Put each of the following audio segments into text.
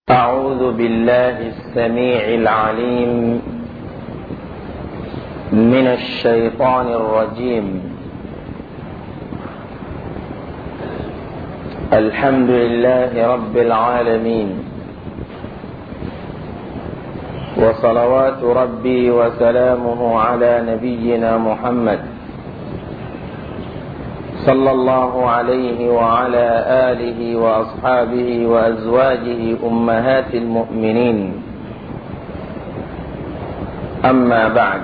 أعوذ بالله السميع العليم من الشيطان الرجيم. الحمد لله رب العالمين، وصلوات ربي وسلامه على نبينا محمد صلى الله عليه وعلى آله وأصحابه وأزواجه أمهات المؤمنين. أما بعد،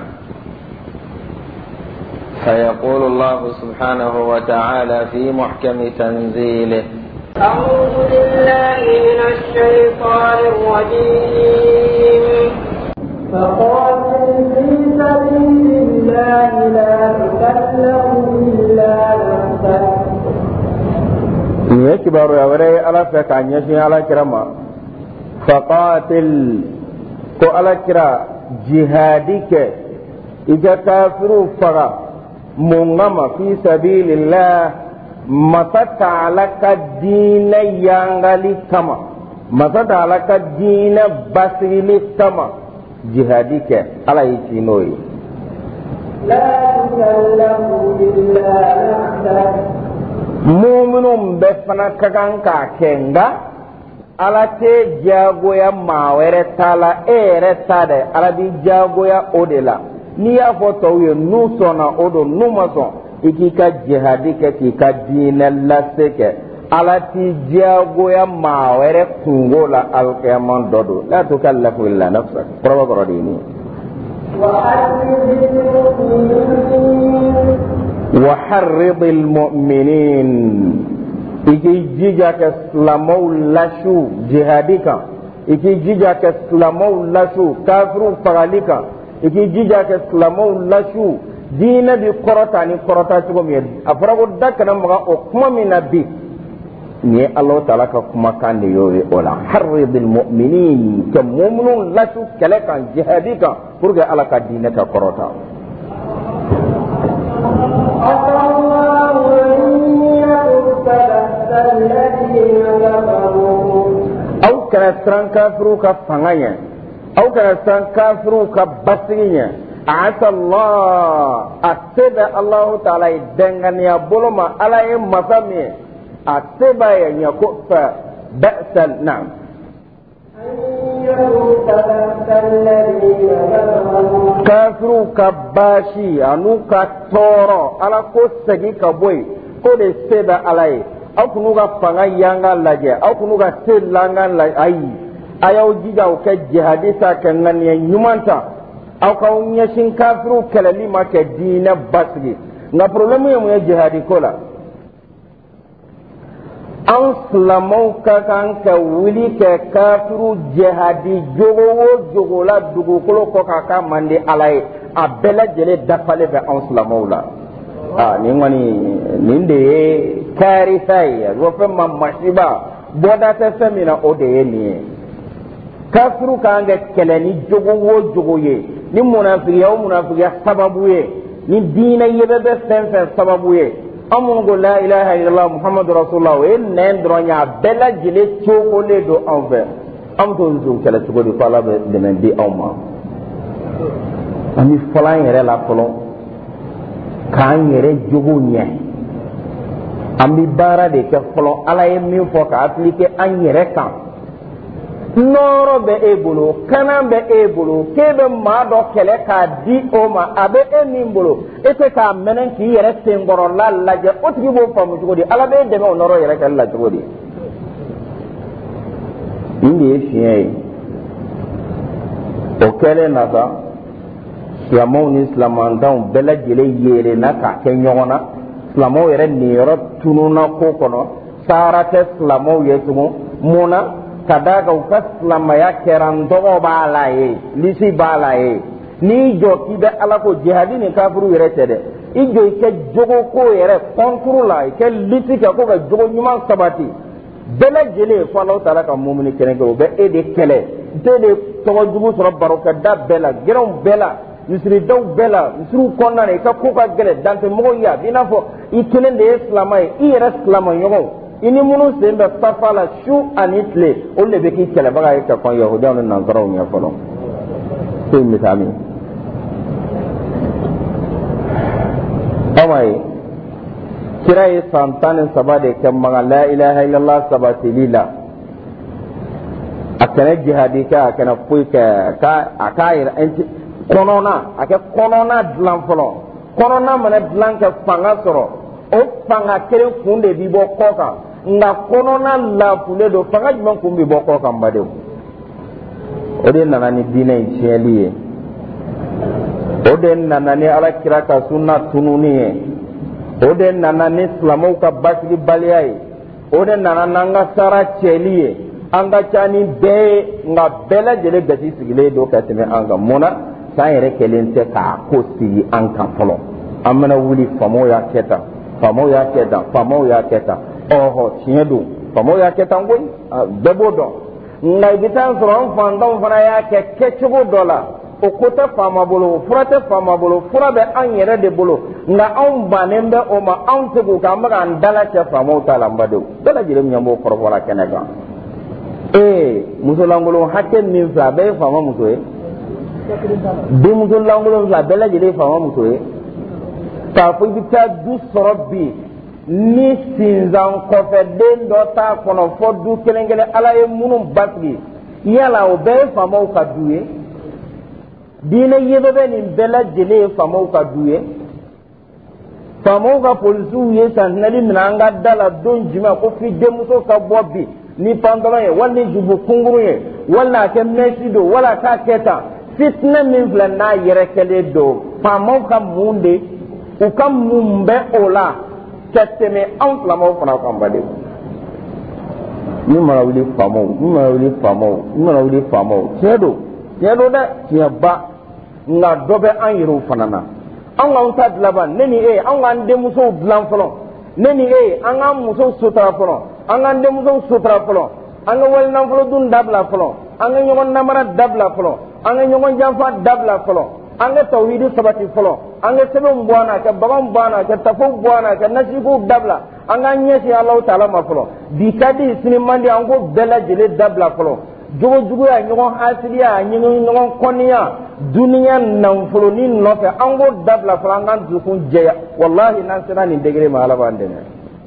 فيقول الله سبحانه وتعالى في محكم تنزيله: أعوذ بالله من الشيطان الرجيم. فقاتل في سبيل الله لا تكلف إلا نفسك. يكبر يا ولي على فكان يشي على كرما. فقاتل كو على كرا جهادك إذا كافروا فرا مungama fi sabilillah masata alaka dina yangali kama, masata alaka dina basili kama, jihadike ala ikinoi la tukallamu illa nafsak. Mu'minun be fana kaganka kenga ala te jagoya mawere tala ere tade ala di jagoya odela. Ni y'a fɔ tɔw ye n'u sɔnna o don, n'u ma sɔn i k'i ka jihadi kɛ k'i ka diinɛ lase kɛ. Ala t'i diyagoya maa wɛrɛ kungo la alikiyama dɔ don. La tukallafu illa nafsak. Kɔrɔbɔ kɔrɔ de ye nin ye. Wa harridil mu'minin. I k'i jija kɛ silamɛw lasu jihadi kan. I k'i jija kɛ silamɛw lasu kafiru fagali kan. I k'i jija kɛ silamɛw lasu diinɛ bi kɔrɔta ni kɔrɔta cogo min ye. A fɔra ko da kana maga o kuma min na bi, nin ye Alahu Taala ka kumakan de y'o ye o la. Harridil mu'minin, ka mu'minun lasu kɛlɛ kan, jihadi kan, pour que Ala ka diinɛ ka kɔrɔta. Aw kana siran kafiru ka fanga ɲɛ, aw kana siran kafiru ka basigi ɲɛ. Asa Allah, a se bɛ Alahu Taala ye danganiya bolo ma, Ala ye masa min ye, a se b'a ye ɲɛ ko fa ba'sal na'am. Kafiru ka baasi anu ka tɔɔrɔ, Ala ko segin ka bɔ yen, ko de se bɛ Ala ye. Aw kunu ka fanga yanga lajɛ, aw kunu ka se langa lajɛ, ayi. A y'aw jija aw kɛ jihadi sa kɛ ŋaniya ɲuman ta, aw k'aw ɲɛsin kafiru kɛlɛli ma kɛ diinɛ basigi. Nka problème ye mun ye jihadi ko la? An silamɛw ka kan ka wuli kɛ kafiru jihadi jogo o jogo la dugukolo kɔ k'a ka man di Ala ye, a bɛɛ lajɛlen dafalen bɛ an silamɛw la. Nin kɔni nin de ye karisa ye, o fɛn ma masiba bɔda tɛ fɛn min na, o de ye nin ye. Kafiru kan ka kɛlɛ ni jogo o jogo ye, ni munafigiya o munafigiya sababu ye, ni diinɛ yɛbɛ bɛ fɛn fɛn sababu ye. An minnu ko la ilaha illallah muhammadu rasulullah, o ye nɛn dɔrɔn ye, a bɛɛ lajɛlen cogolen don anw fɛ. An bɛ t'o nson kɛlɛ cogo di ko Ala bɛ dɛmɛ di anw ma? An bɛ fɔlɔ an yɛrɛ la fɔlɔ, k'an yɛrɛ jogo ɲɛ. An bɛ baara de kɛ fɔlɔ, Ala ye min fɔ ka appliquer an yɛrɛ kan. Nɔɔrɔ bɛ e bolo, kanan bɛ e bolo, k'e bɛ maa dɔ kɛlɛ k'a di o ma, a bɛ e min bolo, e tɛ k'a mɛnɛ k'i yɛrɛ senkɔrɔla lajɛ, o tigi b'o faamu cogo di? Ala bɛ e dɛmɛ o nɔɔrɔ yɛrɛ kɛlɛ la cogo di? Nin de ye fiɲɛ ye. O kɛlen na sa, silamɛw ni silamɛdenw bɛɛ lajɛlen yeelenna k'a kɛ ɲɔgɔn na. Silamɛw yɛrɛ niyɔrɔ tununna ko kɔnɔ, saara tɛ silamɛw ye tugun. Mun na? Ka d'a kan u ka silamɛya kɛra ntɔgɔ b'a la ye, lisi b'a la ye. N'i jɔ k'i bɛ Ala ko jihadi ni kafiru yɛrɛ tɛ dɛ, i jɔ i kɛ jogo ko yɛrɛ kɔnturu la, i kɛ lisi kɛ ko ka jogo ɲuman sabati. Bɛɛ lajɛlen fɔ Alahu Taala ka mumini kɛnɛ kɛ, o bɛ e de kɛlɛ, e de tɔgɔ jugu sɔrɔ barokɛda bɛɛ la, gɛrɛnw bɛɛ la, misiridaw bɛɛ la, misiriw kɔnɔna na i ka ko ka gɛlɛn dantɛmɔgɔw ye, a b'i n'a fɔ i kelen de ye silamɛ ye, i yɛrɛ silamɛɲɔgɔnw, i ini minnu sen bɛ safa la su ani tile olu de bɛ k'i kɛlɛbaga ye ka kɔn yahudiyaw ni nansaraw ɲɛ fɔlɔ se misali awa ye kira ye san 13 de kɛ maga la ilaha illallah sabatili la a kana jihadi kɛ a kana foyi kɛ a k'a yɛrɛ kɔnɔna a kɛ kɔnɔna dilan fɔlɔ kɔnɔna mana dilan kɛ fanga sɔrɔ o fanga kelen kun de bi bɔ kɔ kan nka kɔnɔna lafulen don fanga jumɛn kun bi bɔ kɔ kan badenw o de nana ni diinɛ in tiɲɛli ye o de nana ni alakira ka sunna tununi ye o de nana ni silamɛw ka basigibaliya ye o de nana n'an ka sara cɛli ye an ka ca ni bɛɛ ye nka bɛɛ lajɛlen gasi sigilen don ka tɛmɛ an kan mun na san yɛrɛ kɛlen tɛ k'a ko sigi an kan fɔlɔ an bɛna wuli faamaw y'a kɛ tan faamaw y'a kɛ tan faamaw y'a kɛ tan ɔhɔ tiɲɛ don faamaw y'a kɛ tan koyi bɛɛ b'o dɔn nka i bɛ taa sɔrɔ an fantanw fana y'a kɛ kɛcogo dɔ la o ko tɛ faama bolo fura tɛ faama bolo fura bɛ an yɛrɛ de bolo nka anw bannen bɛ o ma anw tɛ k'o kɛ an bɛ k'an dala cɛ faamaw ta la n badenw bɛɛ lajɛlen ɲɛ b'o kɔrɔfɔla kɛnɛ kan musolankolon hakɛ min fɛ a bɛɛ ye faama muso ye denmusolankolon fɛ a bɛɛ lajɛlen ye faama muso ye k'a fɔ i bɛ taa du sɔrɔ bi ni sinzan kɔfɛ den dɔ t'a kɔnɔ fɔ du kelen kelen ala ye minnu basigi yala o bɛɛ ye faamaw ka du ye diinɛ yebɛ nin bɛɛ lajɛlen ye faamaw ka du ye faamaw ka polisiw ye santinɛli minɛ an ka da la don jumɛn ko f'i denmuso ka bɔ bi ni pantalon ye wali ni jubu kunkuru ye wali a kɛ mɛsi don wali a k'a kɛ tan fitinɛ min filɛ n'a yɛrɛ kɛlen don faamaw ka mun de u ka mun bɛ o la ka tɛmɛ anw silamɛw fana kan baden min mana wuli faamaw tiɲɛ don dɛ tiɲɛ ba nka dɔ bɛ an yɛrɛw fana na an k'an ta dilan ban ne ni e an k'an denmusow dilan fɔlɔ ne ni e an k'an musow sutura fɔlɔ an k'an denmusow sutura fɔlɔ an ka wali nafolo dun dabila fɔlɔ an ka ɲɔgɔn namara dabila fɔlɔ an ka ɲɔgɔn janfa dabila fɔlɔ an ka tawhidi sabati fɔlɔ an ka sɛbɛnw bɔ an na ka baganw bɔ an na ka tafow bɔ an na ka nasigiw dabila an k'an ɲɛsin Alahu Taala ma fɔlɔ bi ka di sini man di an k'o bɛɛ lajɛlen dabila fɔlɔ jogojuguya ɲɔgɔn hasiliya ɲɔgɔn kɔniya duniya nafolonin nɔfɛ an k'o dabila fɔlɔ an k'an dusukun jɛya wallahi n'an sera nin degré ma Ala b'an dɛmɛ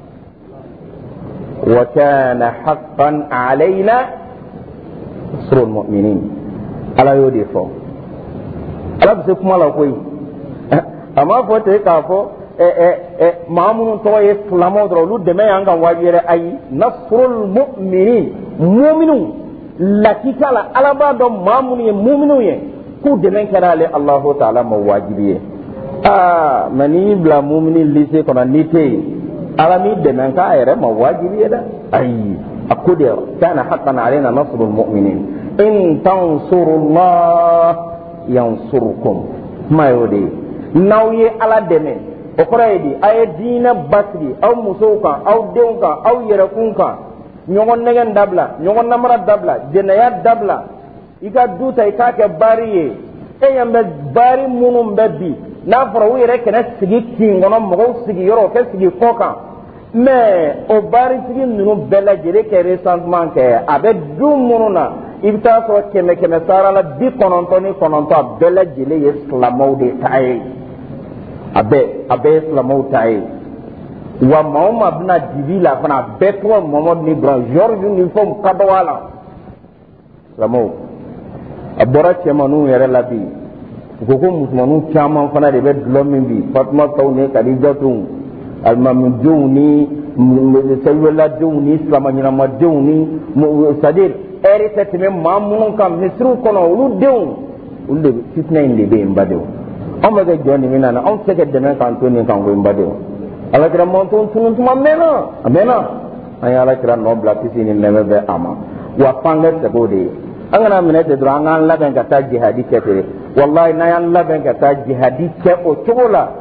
wa kana haqqan alayna nasrul mu'minin Ala y'o de fɔ Ala bɛ se kuma la koyi a m'a fɔ ten k'a fɔ maa minnu tɔgɔ ye silamɛw dɔrɔn olu dɛmɛ y'an ka wajibi yɛrɛ ayi nasrul mu'minin mu'minu lakika la Ala b'a dɔn maa minnu ye mu'minu ye k'u dɛmɛ kɛra ale Alahu Taala ma wajibi ye mais n'i y'i bila mu'minin lycée kɔnɔ n'i tɛ yen Ala m'i dɛmɛ k'a yɛrɛ ma wajibi ye dɛ ayi a ko de kana haqqan alayna nasrul mu'minin in tansurullah yansurkum kuma y'o de ye n'aw ye Ala dɛmɛ o kɔrɔ ye di a ye diinɛ basigi aw musow kan aw denw kan aw yɛrɛkun kan ɲɔgɔn nɛgɛn dabila ɲɔgɔn namara dabila jɛnɛya dabila i ka du ta i k'a kɛ baari ye e ɲɛ bɛ baari minnu bɛ bi n'a fɔra u yɛrɛ kɛnɛ sigi kin kɔnɔ mɔgɔw sigiyɔrɔ o kɛ sigi kɔ kan mais o baarisigi ninnu bɛɛ lajɛlen kɛ recensement kɛ a bɛ du minnu na i bɛ taa sɔrɔ 100 sara la 99 a bɛɛ lajɛlen ye silamɛw de ta ye a bɛɛ ye silamɛw ta ye wa maa o maa bɛna dibi la fana a bɛɛ tɔgɔ Mamadu ni Ibrahim George ni fɛnw ka dɔgɔ a la silamɛw a bɔra cɛmanninw yɛrɛ la bi u ko ko musomanninw caman fana de bɛ dulɔ min bi Fatuma taw ni Kadijatu alimamidenw ni sɛbɛladenw ni silamɛɲɛnamadenw ni c'est-à-dire ɛri tɛ tɛmɛ maa minnu kan misiriw kɔnɔ olu denw olu de fitinɛ in de bɛ yen badenw anw bɛ kɛ jɔn nin min na anw tɛ se ka dɛmɛ k'an to nin kan ko in badenw Alakira mɔntɔn tunun tuma mɛnna an ye Alakira nɔ bila kisi ni nɛmɛ bɛ a ma wa f'an ka sɛgɛn o de ye an kana minɛ ten dɔrɔn an k'an labɛn ka taa jihadi kɛ ten walahi n'an y'an labɛn ka taa jihadi kɛ o cogo la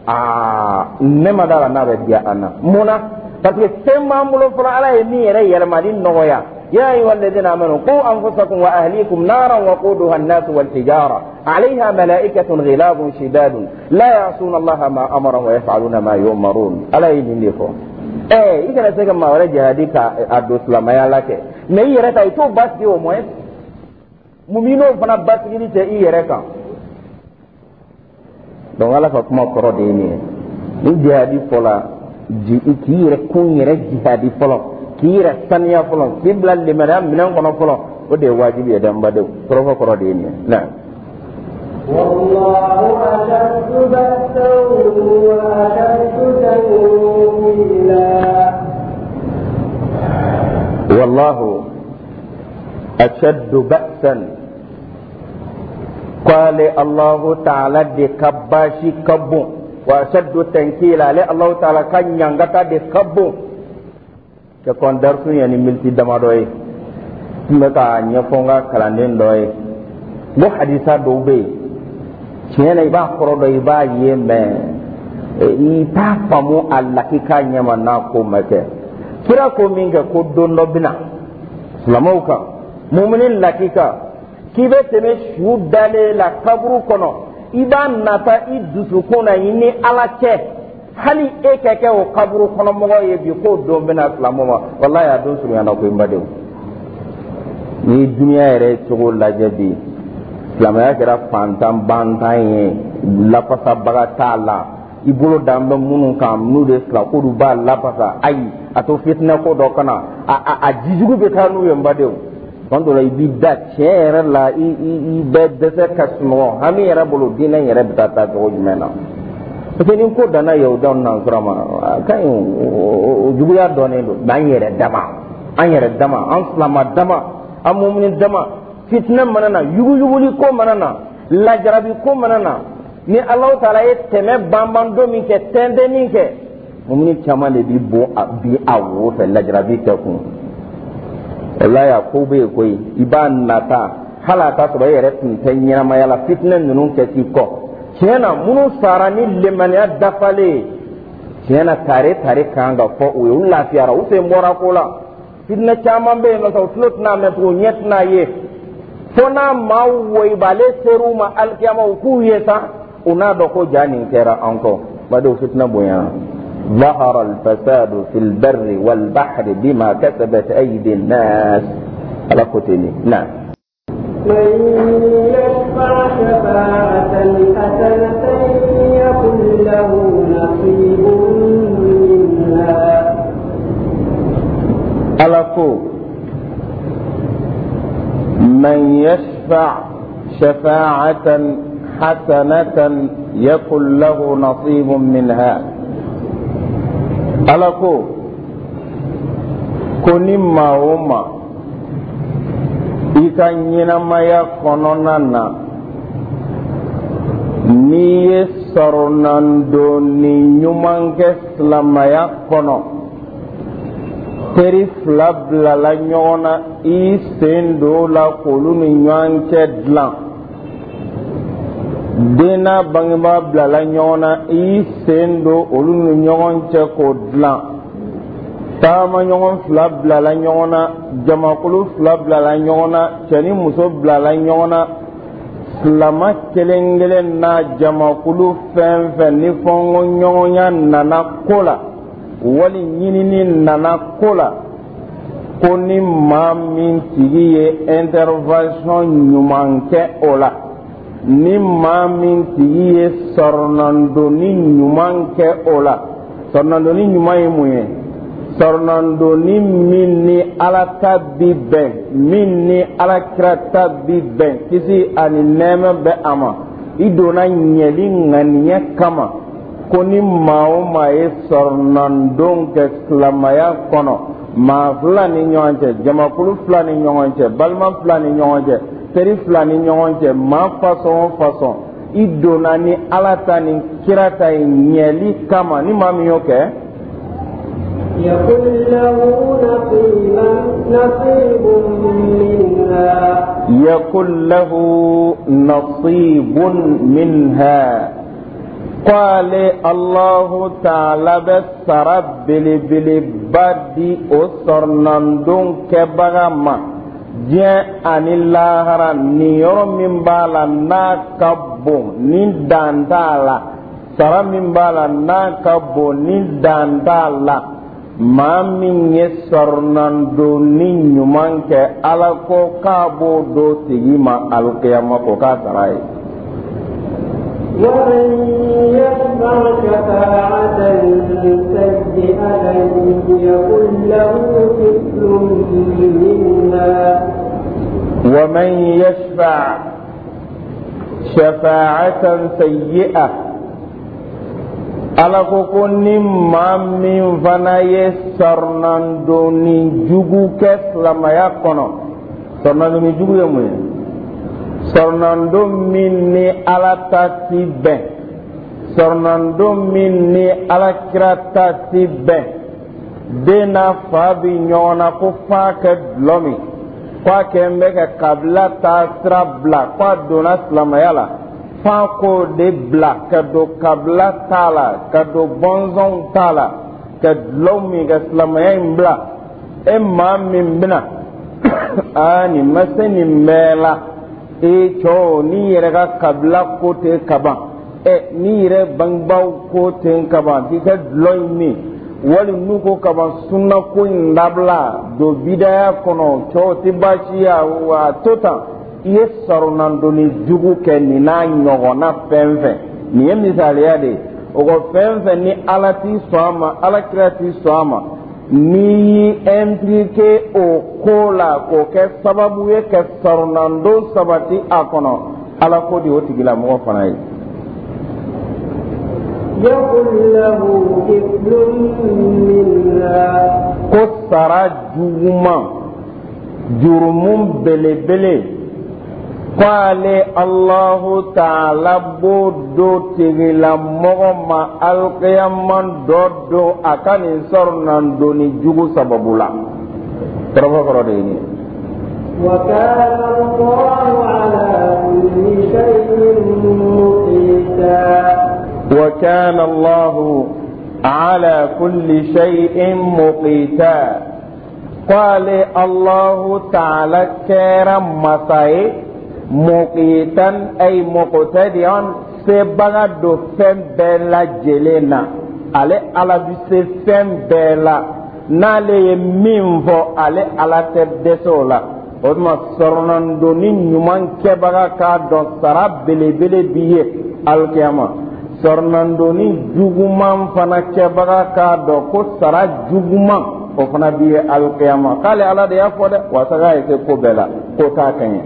ne ma d'a la n'a bɛ diya an na mun na parce que fɛn b'an bolo fɔlɔ Ala ye min yɛrɛ yɛlɛmali nɔgɔya يا أيها الذين آمنوا قوا أنفسكم وأهليكم نارا وقودها الناس والحجارة عليها ملائكة غلاظ شداد لا يعصون الله ما أمرهم ويفعلون ما يؤمرون ألا يجن لكم i kana se ka maa wɛrɛ jihadi ka a don silamɛya la kɛ mais i yɛrɛ ta i t'o basigi au moins mun b'i n'o fana basigili cɛ i yɛrɛ kan donc ala ka kuma kɔrɔ de ye nin ye ni jihadi fɔla k'i yɛrɛ kun yɛrɛ jihadi fɔlɔ k'i yɛrɛ saniya fɔlɔ k'i bila limaniya minɛn kɔnɔ fɔlɔ o de ye wajibi ye danbadenw kɔrɔfɔ kɔrɔ de ye nin ye na والله أشد بأسا وأشد تنكيلا والله أشد بأسا قال الله تعالى دي كباشي كبو وأشد تنكيلا لي الله تعالى كان ينغتا دي كبو كون درسو يعني ملتي دمادوي مكا نيفونغا كلاندين دوي مو حديثا دوبي tiɲɛna i b'a kɔrɔ dɔn i b'a ye mais i t'a faamu a lakika ɲɛma n'a ko ma kɛ kira ko min kɛ ko don dɔ bɛna silamɛw kan mumini lakika k'i bɛ tɛmɛ su dalen la kaburu kɔnɔ i b'a nata i dusukun na i ni ala cɛ hali e ka kɛ o kaburu kɔnɔmɔgɔ ye bi k'o don bɛna silamɛw ma walahi a don surunyana ko i badenw ni duniya yɛrɛ cogo lajɛ bi silamɛya kɛra fantan bantan ye lafasabaga t'a la i bolo dan bɛ minnu kan n'u de fila k'olu b'a lafasa ayi a to fitinɛ ko dɔ kana a jijugu bɛ taa n'u ye n badenw tuma dɔ la i b'i da tiɲɛ yɛrɛ la i bɛ dɛsɛ ka sunɔgɔ hami yɛrɛ bolo diinɛ yɛrɛ bɛ taa cogo jumɛn na parce que ni ko danna yahudaw nansara ma a ka ɲi o juguya dɔnnen don mais an yɛrɛ dama an silama dama an mumini dama fitna mana na yuguyuguli ko mana na lajarabi ko mana na ni Allah taala ye tɛmɛ banban don min kɛ tɛntɛnni kɛ mumini caman de bi bɔ bi a wo fɛ lajarabi kɛ kun wallahi a ko bɛ yen koyi i b'a nata hali a t'a sɔrɔ e yɛrɛ tun tɛ ɲɛnamaya la fitna ninnu kɛ k'i kɔ tiɲɛ na minnu sara ni limaniya dafalen tiɲɛ na tare kan ka fɔ o ye u lafiyara u sen bɔra ko la fitna caman bɛ yen nɔ u tulo tɛna mɛn tugun ɲɛ tɛna ye fo n'a maa woyibale ser'u ma alikiyama u k'u ye sa u n'a dɔn ko ja nin kɛra an kɔ badenw fitina bonyana ظهر الفساد في البر والبحر بما كسبت أيدي الناس على كتني نعم من يشفع شفاعة حسنة يكن له نصيب منها على من يشفع شفاعة حسنة يكن له نصيب منها ألكو كوني ما وما إذا ينما يكوننا ني سرناندو ني نيومان كسلما يكونو teri fila bilala ɲɔgɔn na i sen don la k'olu ni ɲɔgɔn cɛ dilan den n'a bangebaa bilala ɲɔgɔn na i sen don olu ni ɲɔgɔn cɛ k'o dilan taama ɲɔgɔn fila bilala ɲɔgɔn na jamakulu fila bilala ɲɔgɔn na cɛ ni muso bilala ɲɔgɔn na silama kelen kelen n'a jamakulu fɛn fɛn ni fɔnko ɲɔgɔnya nana ko la wali ɲinini nana ko la ko ni maa min tigi ye intervention ɲuman kɛ o la ni maa min tigi ye sɔrɔnandonni ɲuman kɛ o la sɔrɔnandonni ɲuman ye mun ye sɔrɔnandonni min ni ala ta bi bɛn min ni alakira ta bi bɛn kisi ani nɛɛmɛ bɛ a ma i donna ɲɛli ŋaniya kama ko ni maa o maa ye sɔrɔnandon kɛ silamaya kɔnɔ maa fila ni ɲɔgɔn cɛ jamakulu fila ni ɲɔgɔn cɛ balima fila ni ɲɔgɔn cɛ teri fila ni ɲɔgɔn cɛ maa fasɔn o fasɔn i donna ni ala ta ni kira ta ye ɲɛli kama ni maa min y'o kɛ يكن له نصيب منها يكن له نصيب منها قال الله تعالى بسرب بالبدي أسرنندون كبغما جاء عن الله نيور من بالا ناكبو ندان تالا سرى من بالا ناكبو ندان تالا maa min ye sɔrɔnando ni ɲuman kɛ ala ko k'a b'o do tigi ma alukiyama ko k'a sara ye. ومن يشفع شفاعة سيئة يكن له كفل منها ومن يشفع شفاعة سيئة ala ko ko ni maa min fana ye sɔrɔnando ni jugu kɛ silamaya kɔnɔ sɔrɔnando ni jugu ye mun ye sɔrɔnando min ni ala ta ti bɛn sɔrɔnando min ni alakira ta ti bɛn den n'a fa bi ɲɔgɔn na ko f'a kɛ dulɔ min k'a kɛ n bɛ ka kabila ta sira bila k'a donna silamaya la f'a ko de bila ka don kabila t'a la ka don bɔnsɔnw t'a la ka dulɔ min ka silamaya in bila e maa min bɛna nin ma se nin bɛɛ la cɛw n'i yɛrɛ ka kabila ko ten ka ban n'i yɛrɛ bangebaaw ko ten ka ban k'i ka dulɔ in min wali n'u ko ka ban sunna ko in dabila don bidaya kɔnɔ cɛw tɛ baasi ye wa to tan i ye sɔrɔnandoni jugu kɛ nin n'a ɲɔgɔnna fɛn fɛn nin ye misaliya de ye o ko fɛn fɛn ni ala t'i sɔn a ma alakira t'i sɔn a ma n'i y'i impliqué o ko la k'o kɛ sababu ye ka sɔrɔnando sabati a kɔnɔ ala ko de o tigilamɔgɔ fana ye. يكن له كفل منها ko sara juguman jurumu belebele k'ale alahu taala b'o do tigilamɔgɔ ma alikiyama dɔ don a ka nin sɔrɔnandoni jugu sababu la kɔrɔfɔ de ye nin ye. وكان الله على كل شيء مقيتا وكان الله على كل شيء مقيتا قال الله تعالى كرم مساي مقيتا أي مقتديا سبغا دو فم بلا جلنا على بسفم بلا نالي منفو على تبدسولا وما سرنندوني نمان كبغا كادون سراب بلي بلي بيه القيامة sɔrɔnandoni juguman fana kɛbaga k'a dɔn ko sara juguman o fana bɛ ye alikiyama k'ale ala de y'a fɔ dɛ wasa k'a ye se ko bɛɛ la ko t'a ka ɲɛ.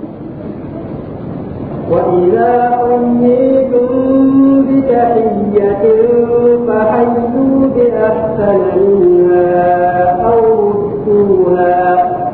وإذا حييتم بتحية فحيوا بأحسن منها أو ردوها.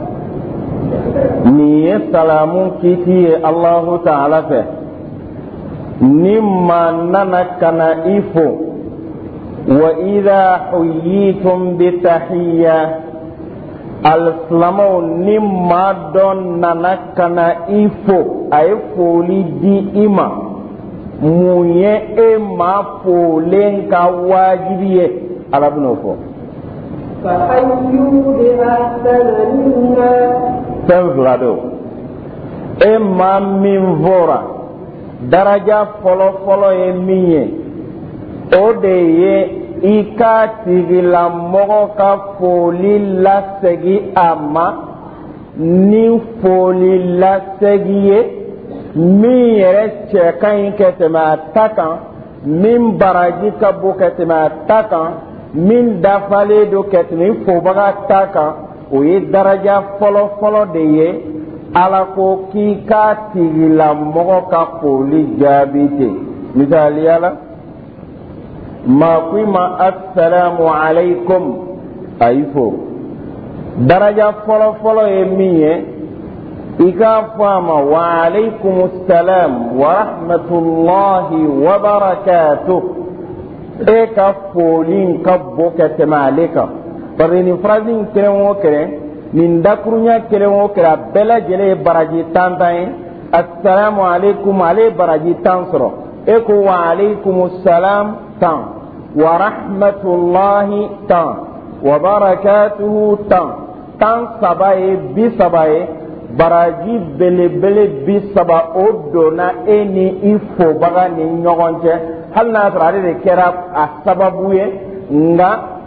nin ye salamu kiti ye Allahu Taala fɛ. ni ma nana kana i fo wa idha huyitum bi tahiyya alisilamaw ni ma dɔ nana kana i fo a ye foli di i ma mun ye e ma folen ka wajibi ye ala bɛn'o fɔ. فحيوا بأحسن منها. fɛn fila don e ma min fɔra daraja fɔlɔ-fɔlɔ ye min ye o de ye i ka tigilamɔgɔ ka foli lasegi a ma ni foli lasegi ye min yɛrɛ cɛ ka ɲi ka tɛmɛ a ta kan min baraji ka bon ka tɛmɛ a ta kan min dafalen don ka tɛmɛ i fobaga ta kan o ye daraja fɔlɔ-fɔlɔ de ye. ala ko k'i ka tigilamɔgɔ ka foli jaabi ten misaliya la maa ko i ma assalamu alaikum a y'i fo daraja fɔlɔ-fɔlɔ ye min ye i k'a fɔ a ma wa alaikum salam wa rahmatulahi wa barakatuh e ka foli ka bon ka tɛmɛ ale kan bari nin phrase in kelen o kelen nin dakurunya kelen o kelen a bɛɛ lajɛlen ye baraji 10 ye assalamu alaikum ale ye baraji 10 sɔrɔ e ko wa alaikum salam 10 wa rahmatulahi 10 wa barakatuhu 10 saba ye 30 ye baraji belebele 30 o donna e ni i fobaga ni ɲɔgɔn cɛ hali n'a sɔrɔ ale de kɛra a sababu ye nka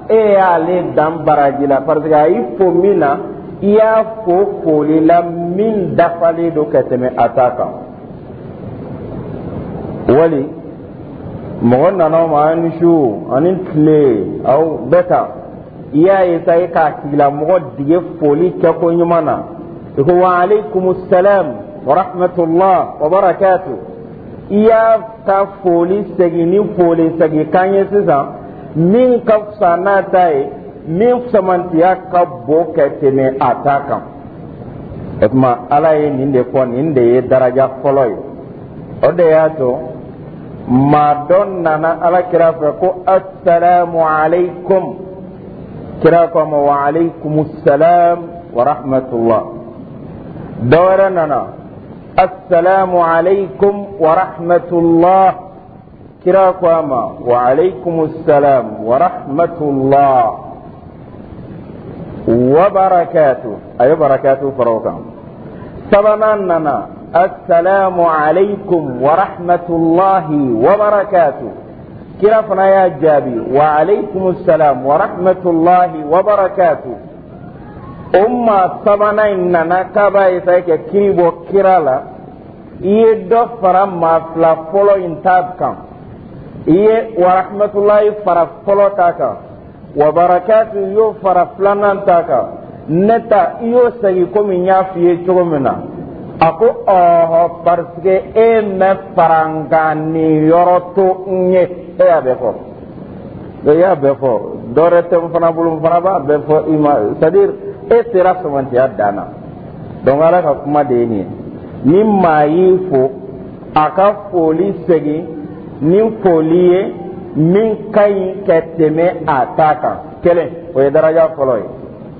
e ale dan baraji la parce que ayi fo min na i y'a fo foli la min dafalen do ka tɛmɛ a ta kan wali mɔgɔ nana ma ani su ani tile aw bɛɛ ta i y'a ye sa i k'a tigila mɔgɔ dige foli kɛ ko ɲuman na i ko wa alaikumus salam wa rahmatullah wa barakatuh i y'a ta foli segin ni foli segin kan ye sisan min ka fisa n'a ta ye min samantiya ka bon ka tɛmɛ a ta kan o tuma ala ye nin de fɔ nin de ye daraja fɔlɔ ye o de y'a to maa dɔ nana ala kira fɛ ko assalamu alaikum kira ko ma wa alaikumus salam wa rahmatullah dɔ wɛrɛ nana assalamu alaikum wa rahmatullah kira ko ma wa alaikumus salam wa rahmatullah wa barakatuh ayo barakatuh farokan sabanan nana assalamu alaikum wa rahmatullahi wa barakatuh kira fana ya jabi wa alaikumus salam wa rahmatullahi wa barakatuh umma sabanan nana kaba isa ke kiribo kirala iye do fara ma fla folo intab kan iye wa rahmatullahi fara folo taka wa barakatuh yo fara flanan taka neta iyo sagi komi nyafiye chogomena ako oho parce que e me farangani yoroto nye e ya befo dorete fana bulum fana ba befo ima c'est-à-dire e sera somanti adana donc ala ka kuma de ni mayi fo aka foli segi ni foliye min kai keteme ataka kele o ye daraja folo ye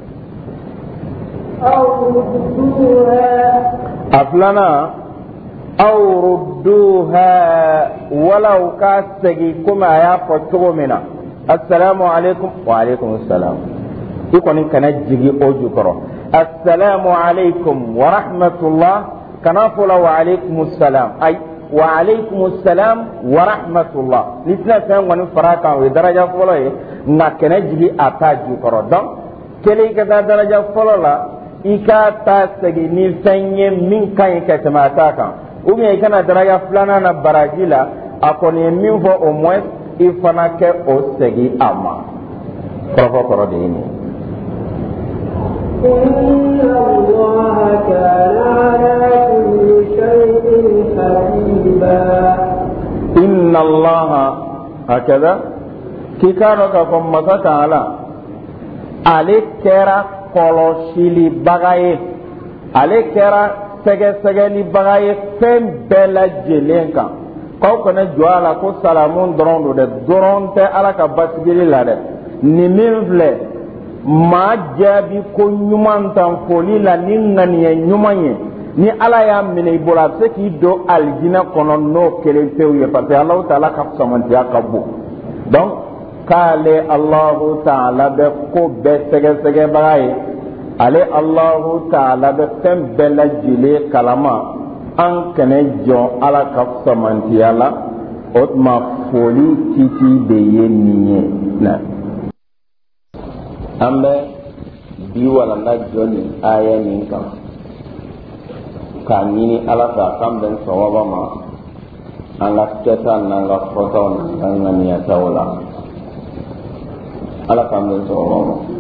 aflana aw rudduha walau ka segi kuma ya fo cogo mina assalamu alaikum wa alaikum assalam ikoni kana jigi oju koro assalamu alaikum wa rahmatullah kana fola wa alaikum assalam ay wa alaikum assalam wa rahmatullah litna tan wani faraka wa daraja folo ye na kana jigi ataju koro donc kele ka daraja folo la ika ta segi ni sanye min kan ka tamata kan ou bien kana daraja flana na barajila akoni min fo au moins ifana ke o segi ama koro de ni inna allaha kana ala kulli shay'in hasiba inna allaha hakada kikaro ka ko masa taala ale kera kɔlɔsili baga ye ale kɛra sɛgɛsɛgɛli baga ye fɛn bɛɛ lajɛlen kan k'aw kana jɔ a la ko salamu dɔrɔn don dɛ dɔrɔn tɛ ala ka basigili la dɛ nin min filɛ maa jaabi ko ɲuman tan foli la ni ŋaniya ɲuman ye ni ala y'a minɛ i bolo a bɛ se k'i don alijinɛ kɔnɔ n'o kelen pewu ye parce que alahu taala ka samantiya ka bon donc k'ale alahu taala bɛ ko bɛɛ sɛgɛsɛgɛbaga ye ale alahu taala bɛ fɛn bɛɛ lajɛlen kalama an kana jɔn ala ka samantiya la o tuma foli titi de ye nin ye na an bɛ bi walanda jɔ nin aya nin kan k'a ɲini ala fɛ a kan bɛn sawaba ma an ka kɛta n'an ka fɔtaw n'an ka ŋaniyataw la ala k'an bɛn sawaba ma